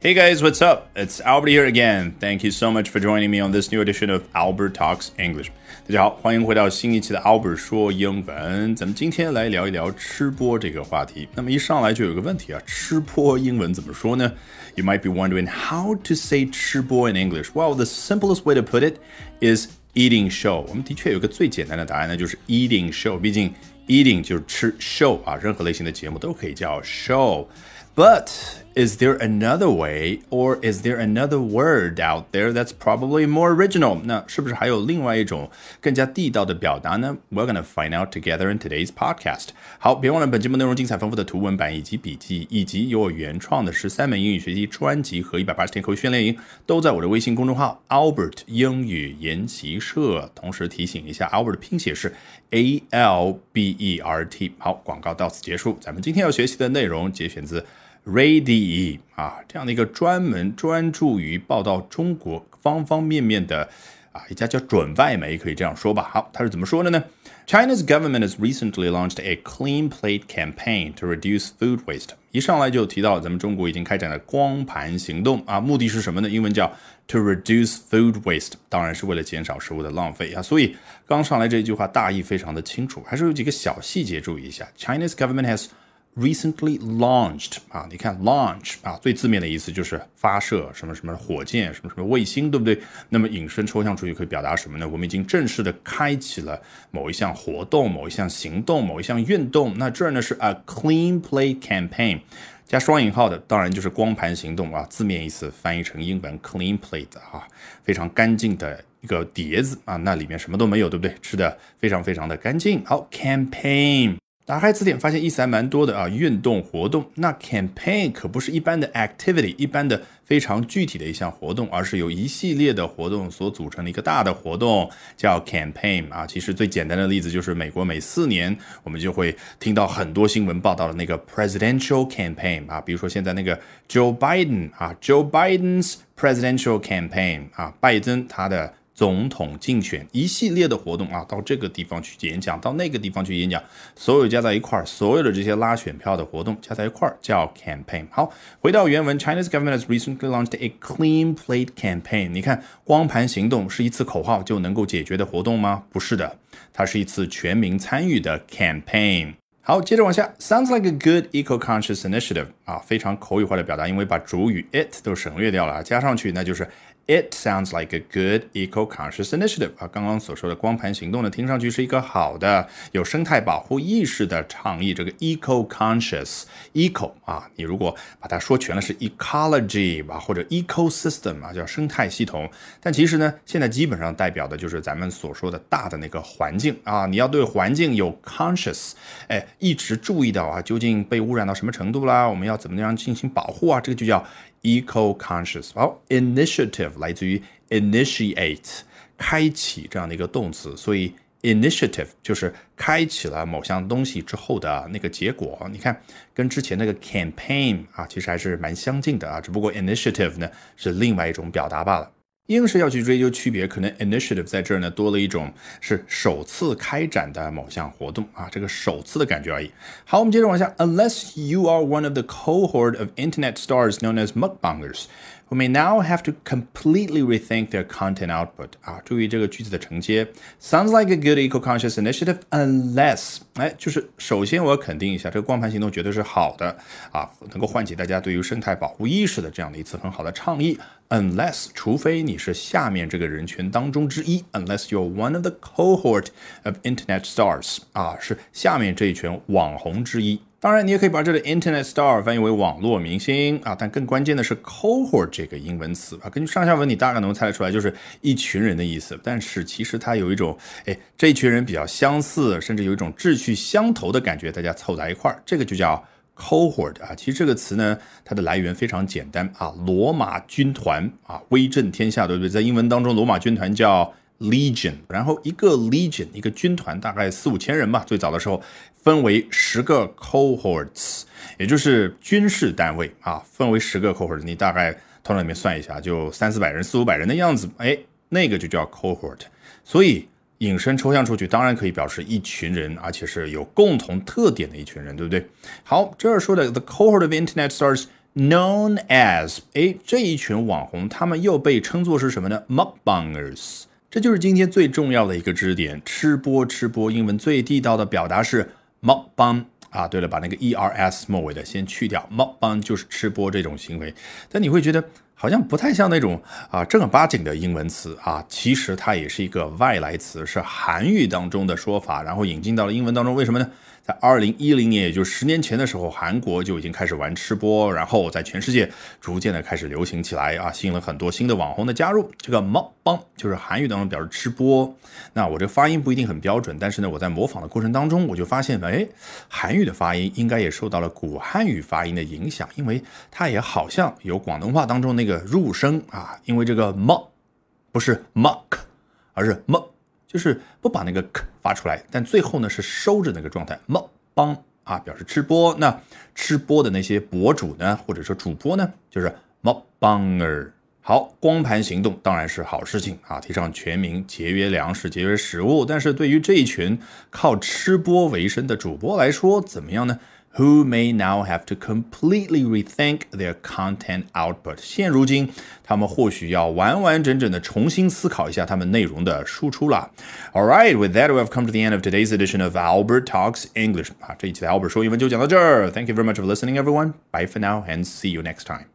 Hey guys, what's up? It's Albert here again. Thank you so much for joining me on this new edition of Albert Talks English. 大家好，欢迎回到新一期的 Albert 说英文。咱们今天来聊一聊吃播这个话题。那么一上来就有个问题啊，吃播英文怎么说呢？ You might be wondering how to say 吃播 in English. Well, the simplest way to put it is eating show. 我们的确有个最简单的答案呢，就是 eating show. 毕竟 eating 就是吃 show 啊，任何类型的节目都可以叫 show。But is there another way, or is there another word out there that's probably more original? 那是不是还有另外一种更加地道的表达呢？ We're gonna find out together in today's podcast. 好，别忘了本节目内容精彩丰富的图文版以及笔记，以及由我原创的13门英语学习专辑和180天口语训练营，都在我的微信公众号 Albert 英语研习社。同时提醒一下 Albert 的拼写是 ALBERT。好，广告到此结束。咱们今天要学习的内容节选自Radiee 啊，这样的一个专注于报道中国方方面面的一家叫准外媒，可以这样说吧。好，它是怎么说的呢？ China's government has recently launched a clean plate campaign to reduce food waste. 一上来就提到咱们中国已经开展了光盘行动啊，目的是什么呢？英文叫 to reduce food waste， 当然是为了减少食物的浪费啊。所以刚上来这一句话大意非常的清楚，还是有几个小细节注意一下。 China's government has recently launched 啊，你看 launch 啊，最字面的意思就是发射什么什么火箭，什么什么卫星，对不对？那么引申抽象出去可以表达什么呢？我们已经正式的开启了某一项活动、某一项行动、某一项运动。那这儿呢是 a clean plate campaign， 加双引号的，当然就是光盘行动啊，字面意思翻译成英文 clean plate 啊，非常干净的一个碟子啊，那里面什么都没有，对不对？吃的非常非常的干净。好 campaign。打开词典发现意思还蛮多的啊，运动活动。那 campaign 可不是一般的 activity， 一般的非常具体的一项活动，而是由一系列的活动所组成的一个大的活动，叫 campaign 啊。其实最简单的例子就是美国每4年我们就会听到很多新闻报道的那个 presidential campaign 啊，比如说现在那个 Joe Biden 啊 ，Joe Biden's presidential campaign 啊，拜登他的总统竞选，一系列的活动啊，到这个地方去演讲，到那个地方去演讲，所有加在一块儿，所有的这些拉选票的活动加在一块儿叫 campaign。 好，回到原文， China's government has recently launched a clean plate campaign。 你看光盘行动是一次口号就能够解决的活动吗？不是的，它是一次全民参与的 campaign。好，接着往下 ，sounds like a good eco-conscious initiative 啊，非常口语化的表达，因为把主语 it 都省略掉了，加上去那就是 It sounds like a good eco-conscious initiative 啊，刚刚所说的光盘行动呢，听上去是一个好的有生态保护意识的倡议。这个 eco-conscious eco 啊，你如果把它说全了是 ecology 吧，或者 ecosystem 啊，叫生态系统。但其实呢，现在基本上代表的就是咱们所说的大的那个环境啊，你要对环境有 conscious， 一直注意到啊，究竟被污染到什么程度啦，我们要怎么样进行保护啊，这个就叫eco-conscious。 好 initiative 来自于 initiate 开启这样的一个动词，所以 initiative 就是开启了某项东西之后的那个结果。你看跟之前那个 campaign 啊，其实还是蛮相近的啊，只不过 initiative 呢是另外一种表达罢了。硬是要去追究区别，可能 initiative 在这儿呢多了一种是首次开展的某项活动啊，这个首次的感觉而已。好，我们接着往下 ，Unless you are one of the cohort of internet stars known as mukbangers, who may now have to completely rethink their content output 啊，注意这个句子的承接 ，sounds like a good eco-conscious initiative unless， 就是首先我要肯定一下，这个光盘行动绝对是好的啊，能够唤起大家对于生态保护意识的这样的一次很好的倡议。Unless 除非你是下面这个人群当中之一 ，Unless you're one of the cohort of internet stars 啊，是下面这一群网红之一。当然，你也可以把这个 internet star 翻译为网络明星啊，但更关键的是 cohort 这个英文词啊，根据上下文你大概能猜得出来，就是一群人的意思。但是其实它有一种，这一群人比较相似，甚至有一种志趣相投的感觉，大家凑在一块儿，这个就叫cohort 啊，其实这个词呢，它的来源非常简单啊，罗马军团啊，威震天下，对不对？在英文当中，罗马军团叫 legion， 然后一个 legion 一个军团大概4-5千人吧，最早的时候分为10个 cohorts， 也就是军事单位啊，分为10个 cohorts， 你大概头脑里面算一下，就300-400人、400-500人的样子，那个就叫 cohort。所以引申抽象出去，当然可以表示一群人，而且是有共同特点的一群人，对不对？好，这儿说的 the cohort of internet stars known as， 这一群网红他们又被称作是什么呢？ Mukbangers。 这就是今天最重要的一个知识点，吃播。英文最地道的表达是 mukbang。对了，把那个 ERS 末尾的先去掉， mukbang 就是吃播这种行为。但你会觉得好像不太像那种正儿八经的英文词其实它也是一个外来词，是韩语当中的说法，然后引进到了英文当中。为什么呢？在2010年，也就是10年前的时候，韩国就已经开始玩吃播，然后在全世界逐渐的开始流行起来吸引了很多新的网红的加入。这个 mukbang 就是韩语当中表示吃播。那我这个发音不一定很标准，但是呢，我在模仿的过程当中，我就发现韩语的发音应该也受到了古汉语发音的影响，因为它也好像有广东话当中那个入声因为这个 m 不是 muck， 而是 m，就是不把那个 k 发出来，但最后呢是收着那个状态。mukbang表示吃播。那吃播的那些博主呢，或者说主播呢，就是 mukbanger。好，光盘行动当然是好事情提倡全民节约粮食、节约食物。但是对于这一群靠吃播为生的主播来说，怎么样呢？Who may now have to completely rethink their content output。 现如今他们或许要完完整整的重新思考一下他们内容的输出了。 Alright, with that we have come to the end of today's edition of Albert Talks English。这一期的 Albert 说英文就讲到这儿。 Thank you very much for listening, everyone. Bye for now and see you next time.